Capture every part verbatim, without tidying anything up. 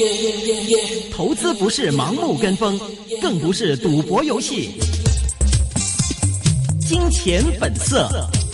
投資不是盲目跟風，更不是賭博遊戲。金錢本色。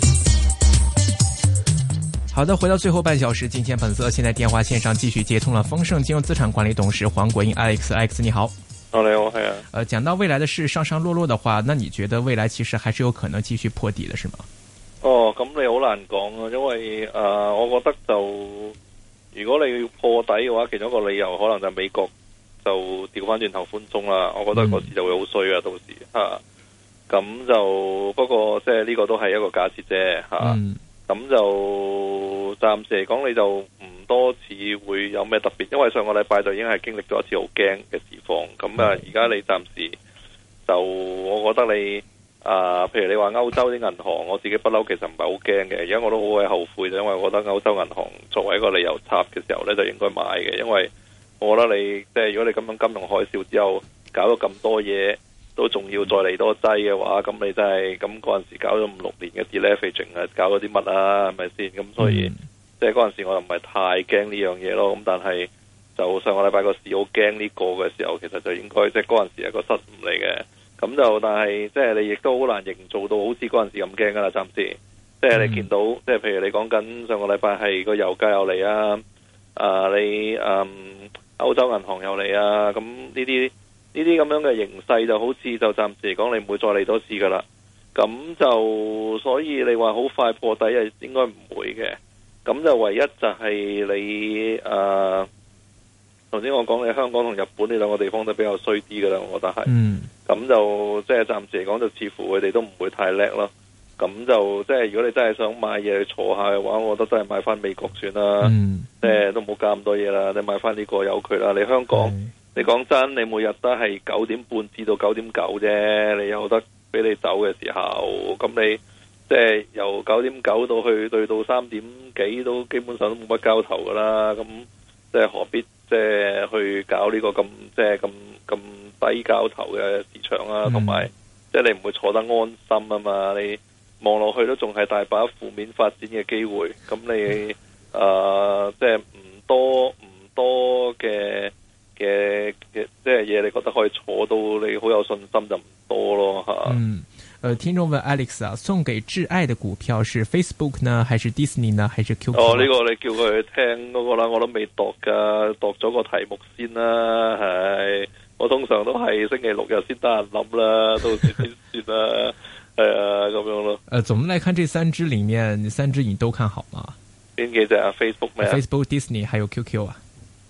好的，回到最後半小時，金錢本色。現在電話線上繼續接通了豐盛金融資產管理董事黃國英 Alex，Alex 你好。 哦，你好，係啊。 呃，講到未來的事上上落落的話，那你覺得未來其實還是有可能繼續破底的，是嗎？ 哦，咁你好難講啊，因為誒、呃，我覺得就如果你要破底嘅話，其中一個理由可能就係美國就調翻轉頭寬鬆啦。我覺得個市就會好衰啊，到時吓。咁就不過即係呢個都係一個假設啫吓。咁、嗯、就暫時嚟講，你就唔多似會有咩特別，因為上個禮拜就已經係經歷咗一次好驚嘅市況。咁啊，而家你暫時就我覺得你啊、呃，譬如你話歐洲啲銀行，我自己不嬲其實唔係好驚嘅。而家我都好鬼後悔，因為我覺得歐洲銀行作為一個理由插嘅時候呢，就應該買嘅。因為我覺得你即係如果你咁樣金融海嘯之後搞咗咁多嘢，都仲要再嚟多劑嘅話，咁你真係咁嗰陣時搞咗五六年嘅 deleveraging 啊，搞咗啲乜啊，係咪先？咁所以、嗯、即係嗰陣時我又唔係太驚呢樣嘢咯。咁但係就上個禮拜個市好驚呢個嘅時候，其實就應該即係嗰陣時係個失誤嚟嘅。咁就但係即係你亦都好難營造到好似嗰陣時咁驚噶啦，暫時。即係你見到，嗯、即係譬如你講緊上個禮拜係個油價又嚟啊，啊你嗯歐洲銀行又嚟啊，咁呢啲。呢啲咁樣嘅形勢就好似就暫時嚟講，你唔會再嚟多次噶啦。咁就所以你話好快破底係應該唔會嘅。咁就唯一就係你誒，頭先我講你香港同日本呢兩個地方都比較衰啲噶啦，我覺得係。嗯。咁就即係暫時嚟講，就似乎佢哋都唔會太叻咯。咁就即係如果你真係想買嘢去坐下嘅話，我覺得真係買翻美國算啦。嗯。即係都冇加咁多嘢啦，你買翻呢個有佢啦。你香港。嗯你講真，你每日都係九點半至到九點九啫，你有得俾你走嘅時候，咁你即係由九點九到去對到三點幾都基本上都冇乜交投噶啦，咁即係何必即係去搞呢個咁即係咁咁低交投嘅市場啊？同埋即係你唔會坐得安心啊嘛，你望落去都仲係大把負面發展嘅機會，咁你誒即係唔多唔多嘅。嘅嘅即係嘢，你覺得可以坐到你好有信心就唔多咯吓。嗯， 呃，聽眾問 Alex 啊，送給摯愛的股票是 Facebook 呢，還是 Disney 呢，還是 Q Q？ 哦，呢、這個你叫佢聽嗰個啦，我都未度噶，度咗個題目先啦。係，我通常都係星期六日先得閒諗啦，到時先算啦。係啊，咁樣咯。呃，總的來看，這三支裏面，三支你都看好嗎？邊幾隻啊 ？Facebook 咩 ？Facebook、Disney 還有 Q Q 啊？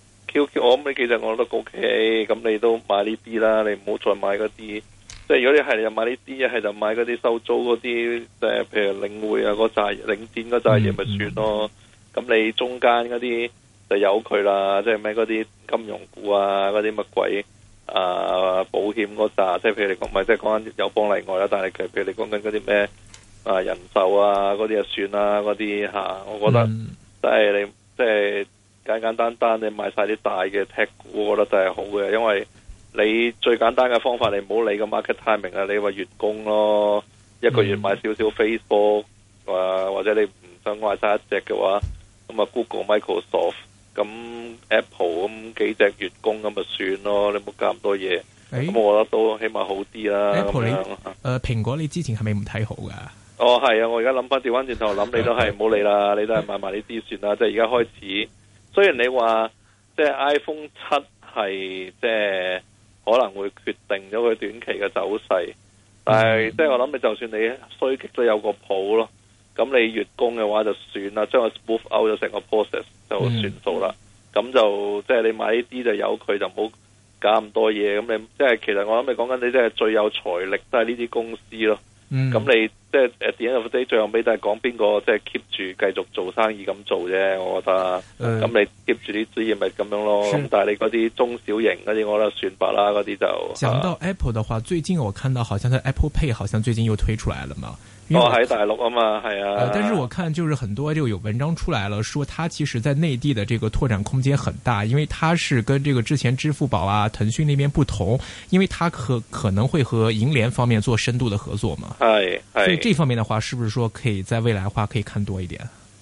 Q Q 我諗你其實我覺得 OK，咁你都買呢啲啦，你唔好再買嗰啲，即係如果你係就買呢啲，一係就買嗰啲收租嗰啲，即係譬如領匯啊嗰扎領展嗰扎嘢咪算咯。咁、嗯、你中間嗰啲就由佢啦，即係咩嗰啲金融股啊，嗰啲乜鬼啊保險嗰扎，即係譬如你講咪即係講緊友邦例外啦，但係譬如你講緊嗰啲咩啊人壽啊嗰啲就算啦，嗰啲吓，我覺得即係、嗯、你即係。簡簡單單你買晒啲大嘅 tech 股，我覺得真係好嘅，因為你最簡單嘅方法，你唔好理個 market timing 啊，你話月供咯，一個月買少少 Facebook，啊或者你唔想買晒一隻嘅話，咁啊 Google、Microsoft，咁 Apple 咁幾隻月供咁咪算咯，你唔好加咁多嘢，咁、欸、我覺得都起碼好啲啦。 Apple 你，誒、呃、蘋果你之前係咪唔睇好噶？ 哦係啊，我而家諗翻調翻轉頭諗，你都係唔好理啦，你都係買埋呢啲算啦，即係而家開始。雖然你話即係 iPhone 七係即係可能會決定咗佢短期嘅走勢，但係即係我諗你就算你衰極都有個譜咯，咁你月供嘅話就算啦，將佢 smooth out 咗成個 process 就算數啦。咁、嗯、就即係你買呢啲就由佢，就唔好搞咁多嘢。咁你即係其實我諗你講緊你即係最有財力都係呢啲公司咯。咁、嗯、你即係 at the end of the day 最後尾都係講邊個即係 keep 住繼續做生意咁做啫，我覺得。咁、呃、你 keep 住啲資源咪咁樣咯。咁但係你嗰啲中小型嗰啲，我覺得算罷啦，嗰啲就。 講到 Apple 的話，最近我看到好像佢 Apple Pay 好像最近又推出來了嘛。 哦，喺大陸啊嘛，係啊、 呃。但是我看就是很多就有文章出來了，說它其實在內地的這個拓展空間很大，因為它是跟這個之前支付寶啊、騰訊那邊不同，因為它可可能會和銀聯方面做深度的合作嘛。 係係。 所以這方面的話，是不是說可以在未來的話可以看多一點？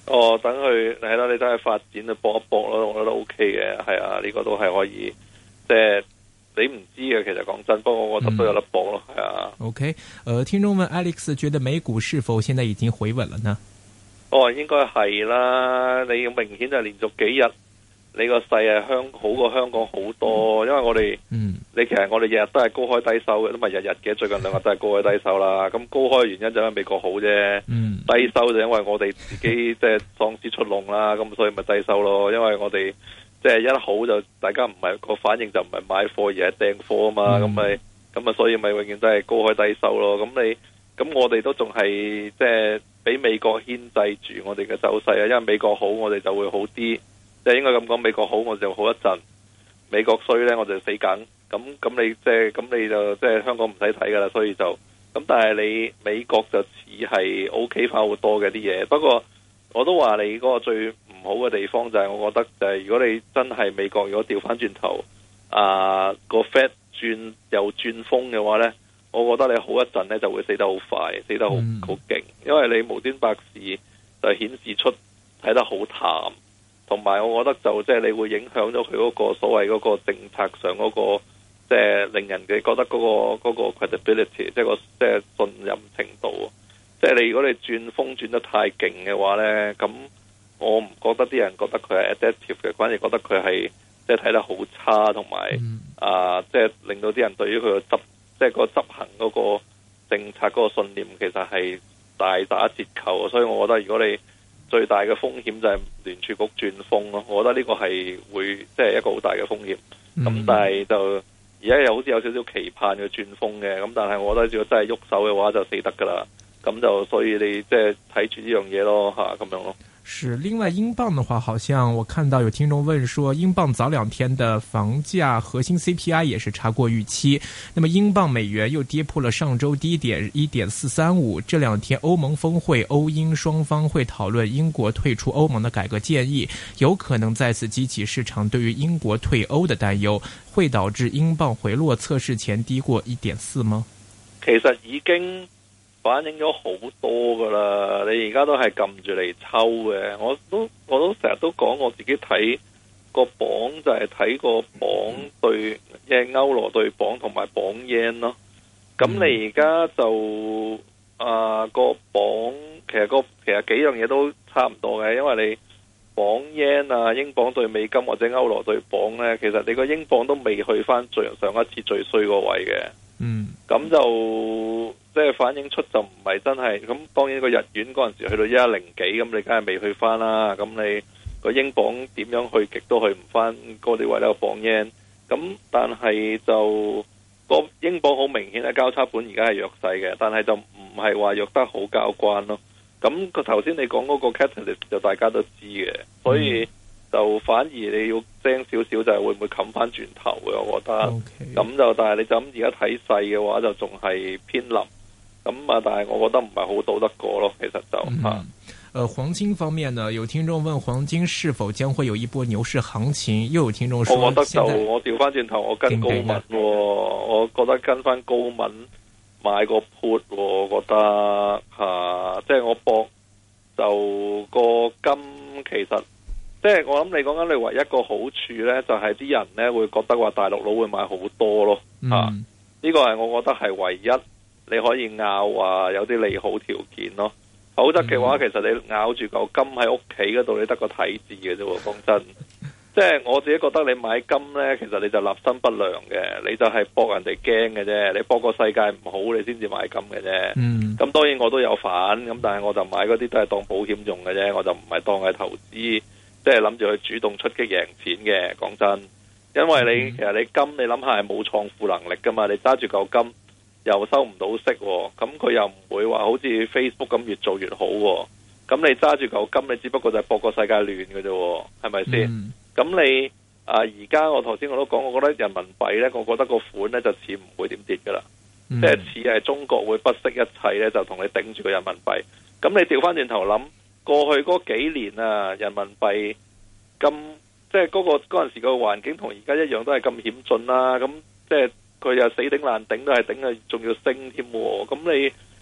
哦，等佢係啦，你等佢發展去搏一搏咯，我覺得 O K 嘅，係啊，呢、這個都係可以，即係你唔知嘅，其實講真，不過我覺得都有得搏咯，係、嗯、啊。 O K， 誒，聽眾問 Alex 覺得美股是否現在已經回穩了呢？ 哦，應該係啦，你明顯就連續幾日。你個勢係香好過香港好多，因為我哋，嗯、你其實我哋日日都係高開低收嘅，都唔係日日嘅，最近兩日都係高開低收啦。咁高開嘅原因就因為美國好啫，嗯、低收就因為我哋自己即係喪屍出籠啦，咁所以咪低收咯。因為我哋即係一好就大家唔係個反應就唔係買貨而係訂貨啊嘛，咁咪咁啊，所以咪永遠都係高開低收咯。咁你咁我哋都仲係即係俾美國牽制住我哋嘅走勢啊，因為美國好我哋就會好啲。即係應該咁講，美國好我就好一陣，美國衰呢我就死梗。咁咁你即係咁你就即係香港唔使睇噶啦，所以就咁。但係你美國就似係 O K 翻好多嘅啲嘢。不過我都話你嗰個最唔好嘅地方就係，我覺得就係如果你真係美國如果調翻轉頭啊個 Fed 轉又轉風嘅話呢，我覺得你好一陣呢就會死得好快，死得好好勁，因為你無端白事就顯示出睇得好淡。同埋，我覺得就即係你會影響咗佢嗰個所謂嗰個政策上嗰個，即係令人哋覺得嗰個嗰個 credibility，即係個即係信任程度。即係你如果你轉風轉得太勁嘅話呢，咁我唔覺得啲人覺得佢係 adaptive 嘅，反而覺得佢係即係睇得好差，同埋啊，即係令到啲人對於佢個執即係個執行嗰個政策嗰個信念其實係大打折扣。所以我覺得如果你最大嘅風險就係聯儲局轉風咯，我覺得呢個係會即係、就是、一個好大嘅風險。咁、嗯、但係就而家又好似有少少期盼嘅轉風嘅，咁但係我覺得如果真係喐手嘅話就死得噶啦。咁就所以你即係睇住呢樣嘢咯吓，咁樣咯。 是，另外英鎊的話，好像我看到有聽眾問說，英鎊早兩天的房價核心 C P I 也是差過預期。那麼英鎊美元又跌破了上周低點一點四三五。這兩天歐盟峰會，歐英雙方會討論英國退出歐盟的改革建議，有可能再次激起市場對於英國退歐的擔憂，會導致英鎊回落測試前低過一點四嗎？ 其實已經反映咗好多噶啦，你而家都係撳住嚟抽嘅。我都我都成日都講，我自己睇個鎊就係睇個鎊對即係歐羅對鎊同埋鎊 yen 咯。咁你而家就啊個鎊其實個其實幾樣嘢都差唔多嘅，因為你鎊 yen 啊英鎊對美金或者歐羅對鎊呢，其實你個英鎊都未去翻最上一次最衰個位嘅。嗯，咁就即係反映出就唔係真係咁。當然個日元嗰陣時去到一一零幾，咁你梗係未去翻啦。咁你個英鎊點樣去極都去唔翻嗰啲位咧？個鎊 yen 咁，但係就個英鎊好明顯嘅交叉盤而家係弱勢嘅，但係就唔係話弱得好交關咯。咁個頭先你講嗰個 catalyst 就大家都知嘅，所以就反而你要精少少就係會唔會冚翻轉頭嘅，我覺得。咁、okay. 就但係你就咁而家睇勢嘅話就仲係偏臨。咁啊，但係我覺得唔係好賭得過咯，其實就吓。誒、 嗯，黃金方面呢，有聽眾問黃金是否將會有一波牛市行情？又有聽眾說， 我覺得就我調翻轉頭，我跟高敏、哦，我覺得跟翻高敏買個 put， 我覺得吓，即、啊、係、就是、我博就個金其實。即係我諗你講緊你唯一一個好處呢，就係、是、啲人呢會覺得話大陸佬會買好多咯，嗯、啊，呢、這個係我覺得係唯一你可以拗話有啲利好條件咯。否則嘅話，嗯、其實你咬住嚿金喺屋企嗰度，你得個睇字嘅啫。講真，即係我自己覺得你買金呢，其實你就立心不良嘅，你就係博人哋驚嘅啫。你博個世界唔好，你先至買金嘅啫。咁、嗯、當然我都有反，咁但係我就買嗰啲都係當保險用嘅啫，我就唔係當係投資。即係諗住去主動出擊贏錢嘅，講真，因為你、嗯、其實你金你諗下係冇創富能力噶嘛，你揸住嚿金又收唔到息，咁佢又唔會話好似 Facebook 咁越做越好，咁你揸住嚿金，你只不過就係博個世界亂嘅啫，係咪先？咁、嗯、你啊而家我頭先我都講，我覺得人民幣呢，我覺得個款呢就似唔會點跌噶啦，即係似係中國會不惜一切呢，就同你頂住個人民幣。咁你調翻轉頭諗。過去嗰幾年啊，人民幣咁即係嗰個嗰陣時個環境同而家一樣都係咁險峻啦。咁即係佢又死頂爛頂都係頂啊，仲要升添。咁你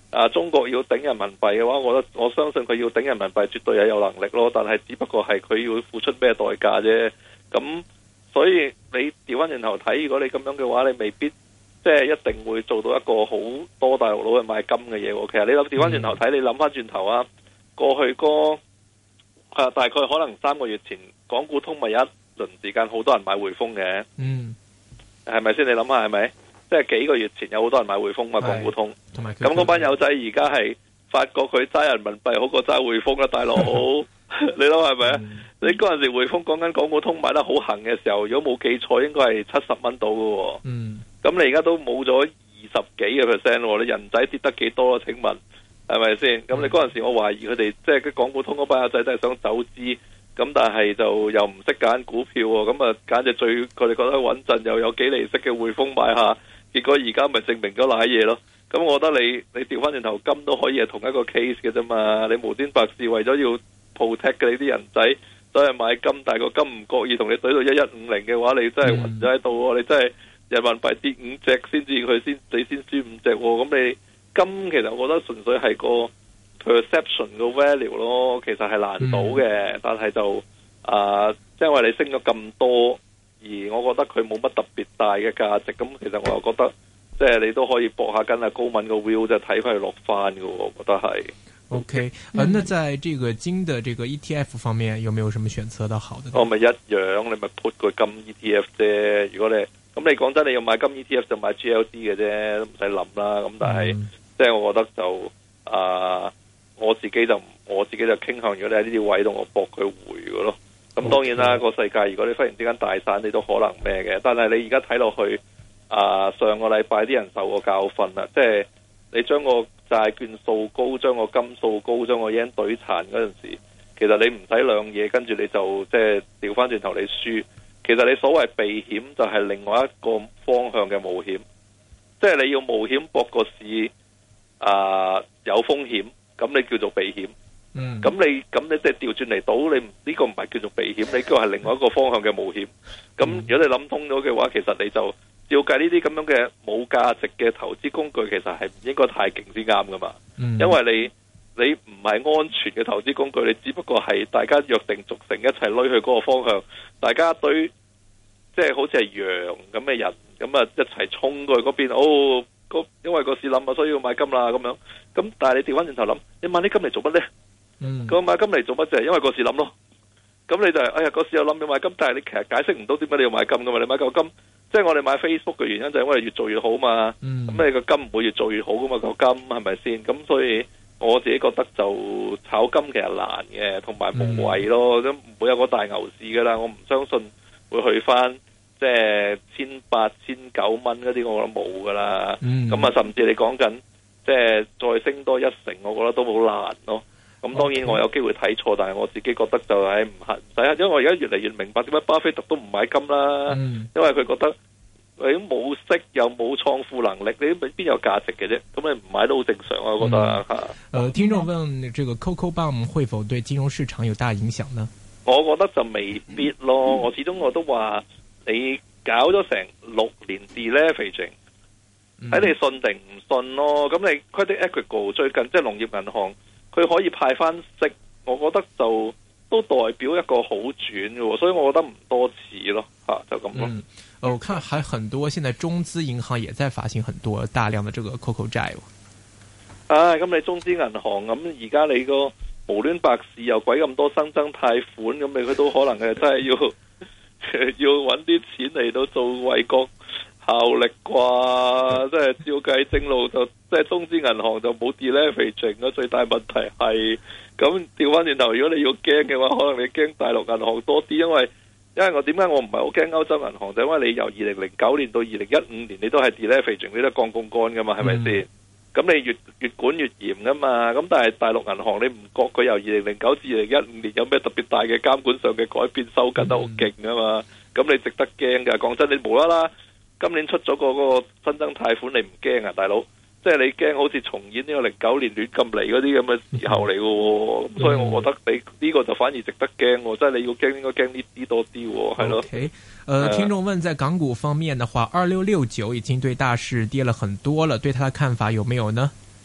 啊中國要頂人民幣嘅話，我覺得我相信佢要頂人民幣絕對係有能力咯，但係只不過係佢要付出咩代價啫。咁所以你調翻轉頭睇，如果你咁樣嘅話，你未必即係一定會做到一個好多大陸佬去買金嘅嘢。其實你諗調翻轉頭睇，你諗翻轉頭啊，過去嗰啊大概可能三個月前，港股通咪有一輪時間好多人買匯豐嘅，嗯，係咪先？你諗下係咪？即係幾個月前有好多人買匯豐嘛，港股通，咁嗰班友仔而家係發覺佢揸人民幣好過揸匯豐啦，大佬，你諗係咪啊？你嗰陣時匯豐講緊港股通買得好行嘅時候，如果冇記錯，應該係七十蚊到嘅，嗯，咁你而家都冇咗二十幾個 percent，你人仔跌得幾多啊？請問係咪先？咁你嗰陣時我懷疑佢哋即係港股通嗰班友仔都係想走資。咁但係就又唔識揀股票喎，咁啊揀隻最佢哋覺得穩陣又有幾厘息嘅匯豐買下，結果而家咪證明咗瀨嘢咯。咁我覺得你你調翻轉頭金都可以係同一個 case 嘅啫嘛。你無端白事為咗要 protect 嘅你啲人仔走去買金，但係個金唔覺意同你懟到一一五零嘅話，你真係暈咗喺度喎。你真係人民幣跌五隻先至佢先你先輸五隻喎。咁你金其實我覺得純粹係個perception 個 value 咯，其實係難倒嘅，嗯、但係就啊，即、呃、係因為你升咗咁多，而我覺得佢冇乜特別大嘅價值，咁其實我又覺得即係你都可以搏下跟阿高敏個 view，就睇翻佢落翻嘅，我覺得係。OK， 呃，那在這個金的這個 E T F 方面，有沒有什麼選擇的好的？ 我咪一樣，你咪 put 個金 E T F 啫。如果你咁你講真，你要買金 E T F 就買 G L D 嘅啫，都唔使諗啦。咁但係、嗯、即係我覺得就啊。呃我自己就我自己就傾向，如果你喺呢啲位度，我搏佢回嘅咯。咁當然啦，個 Okay. 世界如果你忽然之間大散，你都可能咩嘅。但係你而家睇落去，啊、呃、上個禮拜啲人受過教訓啦，即係你將個債券掃高，將個金掃高，將個 yen 懟殘嗰陣時，其實你唔使兩嘢，跟住你就即係調翻轉頭你輸。其實你所謂避險就係另外一個方向嘅冒險，即係你要冒險搏個市啊、呃、有風險。咁你叫做避險，咁、嗯、你咁你即係調轉嚟賭，你呢、呢個唔係叫做避險，你叫係另外一個方向嘅冒險。咁、嗯、如果你諗通咗嘅話，其實你就照計呢啲咁樣嘅冇價值嘅投資工具，其實係唔應該太勁先啱噶嘛。嗯、因為你你唔係安全嘅投資工具，你只不過係大家約定俗成一齊攞去嗰個方向，大家對即係好似係羊咁嘅人，咁啊一齊衝過去嗰邊哦。因為個市冧啊，所以要買金啦咁樣。咁但係你調翻轉頭諗，你買啲金嚟做乜呢？嗯，咁買金嚟做乜啫？因為個市冧咯。咁你就係、是、哎呀，個市又冧要買金，但係你其實解釋唔到點解你要買金噶嘛？你買嚿金，即係我哋買 Facebook 嘅原因就係因為越做越好嘛。咁、嗯、你個金唔會越做越好噶嘛？嚿金係咪先？咁所以我自己覺得就炒金其實難嘅，同埋無謂咯，都唔、嗯、會有個大牛市噶啦。我唔相信會去翻。即係千八千九蚊嗰啲，我覺得冇噶啦。咁啊、嗯，甚至你講緊即係再升多一成，我覺得都好難咯。咁當然我有機會睇錯，但係我自己覺得就係唔係唔使，因為我而家越嚟越明白點解巴菲特都唔買金啦。嗯、因為佢覺得你冇息又冇創富能力，你邊有價值嘅啫？咁你唔買都好正常啊，我覺得吓。誒、 嗯呃，聽眾問：這個 Coco Bomb 會否對金融市場有大影響呢？ 我覺得就未必咯。嗯、我始終我都話。你搞咗成六年 deleveraging，睇你信定唔信咯。咁你 Credit Agricole 最近即係農業銀行，佢可以派翻息，我覺得就都代表一個好轉嘅，所以我覺得唔多似咯，吓、啊、就咁咯。 嗯，我看還很多，現在中資銀行也在發行很多大量的這個 Coco 債。 啊，咁你中資銀行咁而家你個無端白事又鬼咁多新增貸款，咁你佢都可能係真係要。要揾啲錢嚟到做為國效力啩，即係照計正路就即係中資銀行就冇 deleveraging 咯。最大問題係咁調翻轉頭，如果你要驚嘅話，可能你驚大陸銀行多啲，因為因為我點解我唔係好驚歐洲銀行，就因為你由二零零九年到二零一五年，你都係 deleveraging，你都係降槓桿噶嘛，係咪先？咁你越越管越嚴噶嘛，咁但係大陸銀行你唔覺佢由二零零九至二零一五年有咩特別大嘅監管上嘅改變，收緊得好勁啊嘛，咁你值得驚噶。講真，你無啦啦今年出咗個嗰個新增貸款，你唔驚啊，大佬？即係你驚好似重演呢個零九年亂咁嚟嗰啲咁嘅時候嚟嘅，咁所以我覺得你呢個就反而值得驚，即係你要驚應該驚呢啲多啲，係咯。 Okay. 呃，聽眾問，在港股方面的話，二六六九已經對大市跌了很多了，對他的看法有沒有呢？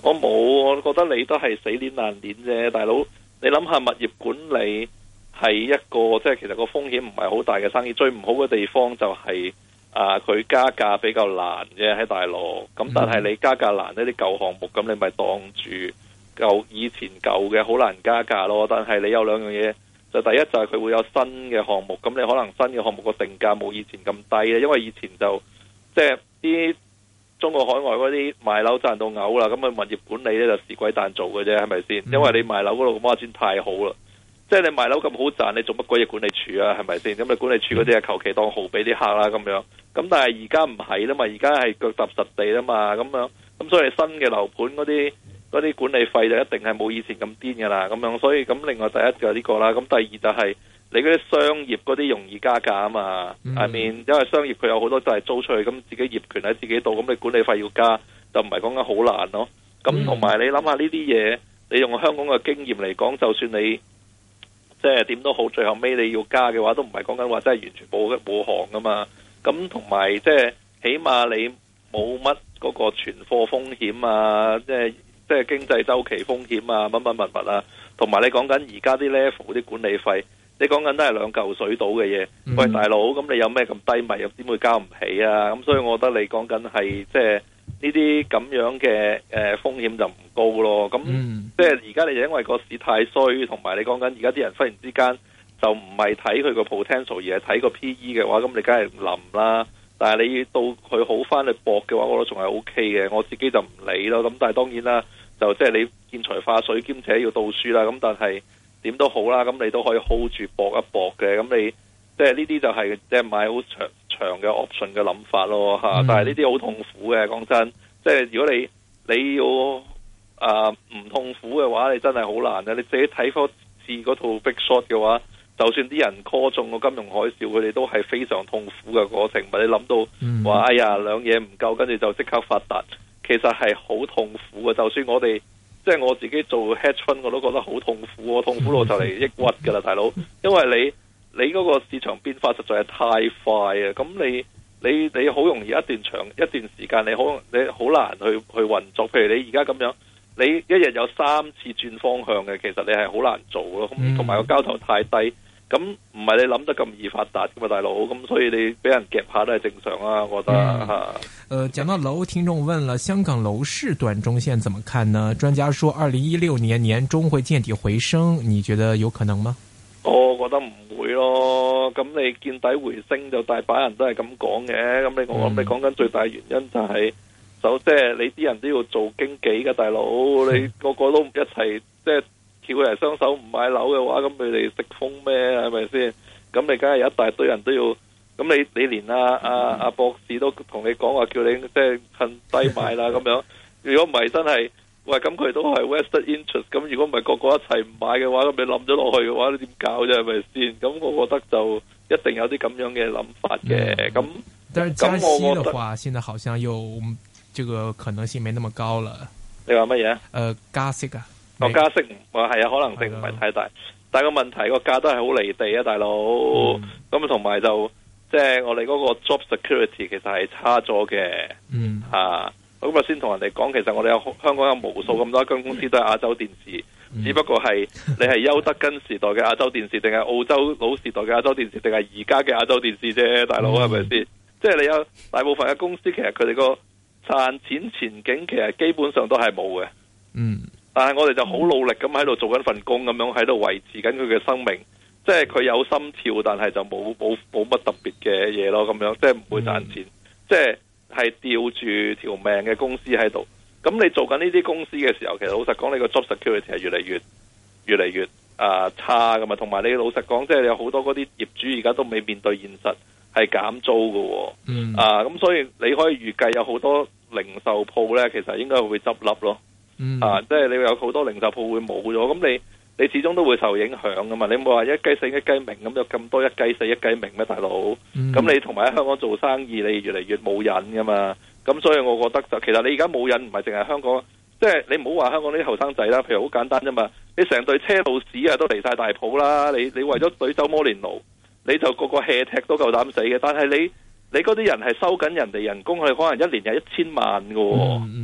我冇，我覺得你都係死鏈爛鏈啫，大佬。你諗下物業管理係一個即係其實個風險唔係好大嘅生意，最唔好嘅地方就係、是、啊佢加價比較難啫喺大陸。咁但係你加價難呢啲舊項目，咁你咪當住舊以前舊嘅好難加價咯。但係你有兩樣嘢，就第一就係佢會有新嘅項目，咁你可能新嘅項目個定價冇以前咁低，因為以前就即係啲中國海外嗰啲賣樓賺到嘔啦，咁啊物業管理咧就屎鬼蛋做嘅啫，係咪先？因為你賣樓嗰度嘅孖展太好啦，即係你賣樓咁好賺，你做乜鬼嘢管理處啊？係咪先？咁你管理處嗰啲係求其當號俾啲客啦咁樣。咁但係而家唔係啦嘛，而家係腳踏實地啦嘛，咁樣咁所以新嘅樓盤嗰啲嗰啲管理費就一定係冇以前咁癲噶啦，咁樣。所以咁另外第一就係呢個啦，咁第二就係、是。你嗰啲商業嗰啲容易加價啊嘛，係、mm. 面因為商業佢有好多就係租出去，咁自己業權喺自己度，咁你管理費要加，就唔係講緊好難咯。咁同埋你諗下呢啲嘢，你用香港嘅經驗嚟講，就算你即係點都好，最後尾你要加嘅話，都唔係講緊話真係完全冇冇行噶嘛。咁同埋即係起碼你冇乜嗰個存貨風險啊，即係即係經濟周期風險啊，乜乜物物啊，同埋你講緊而家啲 level 啲管理費。你講緊都係兩嚿水到嘅嘢，嗯、喂大佬，咁你有咩咁低迷，又點會交唔起啊？咁所以我覺得你講緊係即係呢啲咁樣嘅誒、呃、風險就唔高咯。咁、嗯、即係而家你就因為個市太衰，同埋你講緊而家啲人忽然之間就唔係睇佢個 potential，而係睇個 P E 嘅話，咁你梗係冧啦。但係你到佢好翻去搏嘅話，我覺得仲係 O K 嘅。我自己就唔理咯。咁但係當然啦，就即係你見財化水兼且要倒輸啦。咁但係。點都好啦，咁你都可以 hold 住搏一搏嘅，咁你即係呢啲就係即係買好長長嘅 option 嘅諗法咯吓。嗯、但係呢啲好痛苦嘅，講真，即係如果你你要啊唔、呃、痛苦嘅話，你真係好難嘅。你自己睇多次嗰套 Big Short 嘅話，就算啲人 call 中個金融海嘯，佢哋都係非常痛苦嘅過程。唔係你諗到話、嗯、哎呀兩嘢唔夠，跟住就即刻發達，其實係好痛苦嘅。就算我哋。即係我自己做 hedge fund 我都覺得好痛苦，我痛苦到就嚟抑鬱噶啦，大佬。因為你你嗰個市場變化實在係太快啊，咁你你你好容易一段長一段時間你好你好難去去運作。譬如你而家咁樣，你一日有三次轉方向嘅，其實你係好難做咯。同埋個交投太低。咁唔係你諗得咁易發達噶嘛，大佬，咁所以你俾人夾下都係正常啊，我覺得吓。 嗯、呃，講到樓，聽眾問了，香港樓市短中線怎麼看呢？專家說二零一六年年中會見底回升，你覺得有可能嗎？ 我覺得唔會咯，咁你見底回升就大把人都係咁講嘅，咁你我諗你講緊最大原因就係、是，就即係你啲人都要做經紀嘅大佬，你個個都一齊即係。叫佢哋雙手唔買樓嘅話，咁佢哋食風咩？係咪先？咁你梗係有一大堆人都要，咁你你連阿阿阿博士都同你講話，叫你即係趁低買啦咁樣。如果唔係真係，喂咁佢都係 vested interest。咁如果唔係個個一齊唔買嘅話，咁你冧咗落去嘅話，你點搞啫？係咪先？咁我覺得就一定有啲咁樣嘅諗法嘅。咁、嗯， 但係加息嘅話，現在好像又這個可能性沒那麼高了。 你話乜嘢？誒、 呃，加息啊！ 個加息話係啊，可能性唔係太大，的但係個問題個價都係好離地啊，大佬。咁同埋就即係、就是、我哋嗰個 job security 其實係差咗嘅。嗯，吓咁啊，先同人哋講，其實我哋有香港有無數咁多間公司都係亞洲電視，嗯、只不過係你係邱德根時代嘅亞洲電視，定係澳洲老時代嘅亞洲電視，定係而家嘅亞洲電視啫，大佬係咪先？即係、嗯、你有大部分嘅公司，其實佢哋個賺錢前景其實基本上都係冇嘅。嗯。但係我哋就好努力咁喺度做緊份工，咁樣喺度維持緊佢嘅生命，即係佢有心跳，但係就冇冇冇乜特別嘅嘢咯，咁樣即係唔會賺錢，嗯、即係係吊住條命嘅公司喺度。咁你做緊呢啲公司嘅時候，其實老實講，你個 job security 係越嚟越越嚟越啊、呃、差噶嘛。同埋你老實講，即係有好多嗰啲業主而家都未面對現實，係減租噶。嗯啊，咁所以你可以預計有好多零售鋪咧，其實應該會執笠咯。嗯、啊，即係你有好多零售鋪會冇咗，咁你你始終都會受影響噶嘛？你冇話一雞死一雞鳴咁，有咁多一雞死一雞鳴咩，大佬？咁、嗯、你同埋喺香港做生意，你越嚟越冇癮噶嘛？咁所以我覺得就其實你而家冇癮，唔係淨係香港，即係你唔好話香港啲後生仔啦。譬如好簡單啫嘛，你成隊車路士啊都離晒大譜啦，你你為咗隊走摩連奴，你就個個 hea 踢都夠膽死嘅。但係你你嗰啲人係收緊人哋人工，佢可能一年有一千萬噶。嗯嗯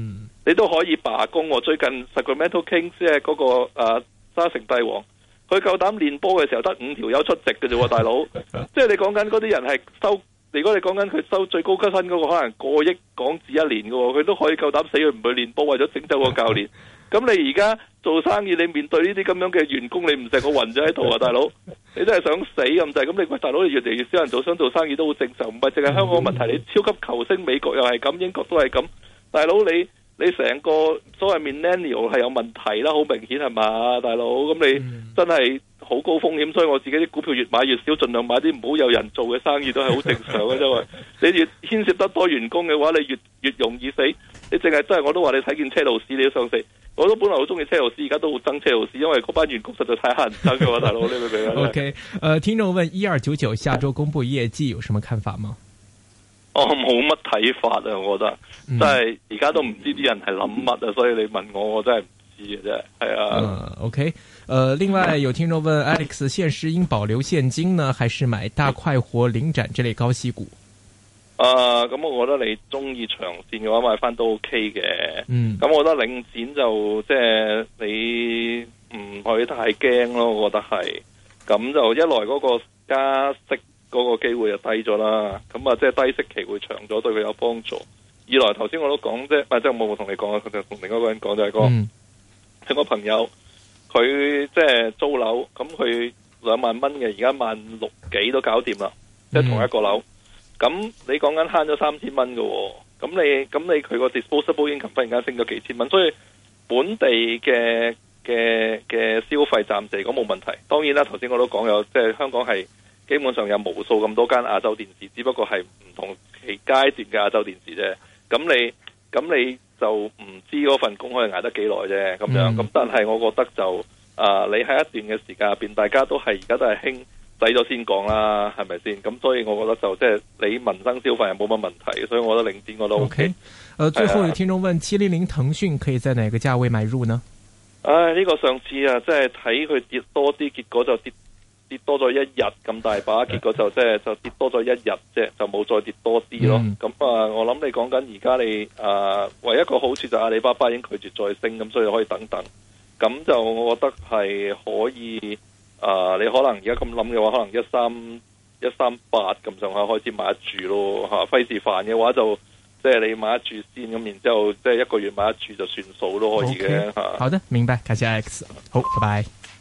你都可以罷工。最近 Sacramento Kings 即係嗰個誒沙城帝王，佢夠膽練波嘅時候得五條友出席嘅啫，大佬。即係你講緊嗰啲人係收，如果你講緊佢收最高級薪嗰個，可能過億港紙一年嘅，佢都可以夠膽死佢唔去練波，為咗整走個教練。咁你而家做生意，你面對呢啲咁樣嘅員工，你唔成個暈咗喺度啊，大佬！你真係想死咁滯。咁你喂大佬，你越嚟越少人做，想做生意都好正常，唔係淨係香港問題。你超級球星，美國又係咁，英國都係咁。大佬你你成個所謂 millennial 係有問題啦，好明顯係嘛，大佬？咁你真係好高風險，所以我自己啲股票越買越少，盡量買啲唔好有人做嘅生意都係好正常嘅，因為你越牽涉得多員工嘅話，你越越容易死。你淨係真係我都話你睇見車路士你都想死。我都本來好中意車路士，而家都好憎車路士，因為嗰班員工實在太乞人憎嘅嘛，大佬，你明唔明啊 ？OK，呃，聽眾問一二九九下周公布業績有什麼看法嗎？ 我冇乜睇法啊，我覺得，嗯、真係而家都唔知啲人係諗乜啊，所以你問我，我真係唔知嘅啫，係啊。 嗯 OK，呃，另外有聽眾問 Alex， 現時應保留現金呢，還是買大快活、領展這類高息股？ 啊，咁、呃、我覺得你中意長線嘅話買翻都 OK 嘅。嗯，咁我覺得領展就即係你唔可以太驚咯，我覺得係。咁就一來嗰個加息嗰個機會就低咗啦，咁啊即係低息期會長咗，對佢有幫助。二來頭先我都講啫，即係我冇同你講啊，佢就同另一個人講就係、是、個，嗯、一個朋友佢即係租樓，咁佢兩萬蚊嘅，而家萬六幾都搞掂啦，即係、嗯、同一個樓。咁你講緊慳咗三千蚊嘅，咁你咁你佢個 disposable income 忽然間升咗幾千蚊，所以本地嘅嘅嘅消費暫時嚟講冇問題。當然啦，頭先我都講有，即係香港係基本上有無數咁多間亞洲電視，只不過係唔同期階段嘅亞洲電視啫。咁你咁你就唔知嗰份工可以捱得幾耐啫，咁樣。咁、嗯、但係我覺得就啊、呃，你喺一段嘅時間入邊，大家都係而家都係興。抵咗先講啦，係咪先？咁所以我覺得就即係你民生消費係冇乜問題，所以我覺得領展我都 OK。 呃，最後有聽眾問：七零零騰訊可以在哪個價位買入呢？ 唉，呢、這個上次啊，即係睇佢跌多啲，結果就跌跌多咗一日咁大把，結果就即係就跌多咗一日啫，就冇再跌多啲咯。咁、嗯、啊，我諗你講緊而家你啊，唯一一個好處就阿里巴巴已經拒絕再升，咁所以可以等等。咁就我覺得係可以。啊、呃！你可能而家咁諗嘅話，可能一三一三八咁上下開始買得住咯嚇，費事煩嘅話就即係你買得住先，咁然之後即係一個月買得住就算數都可以嘅嚇。Okay. 好的，明白，感謝 Alex，好，拜拜。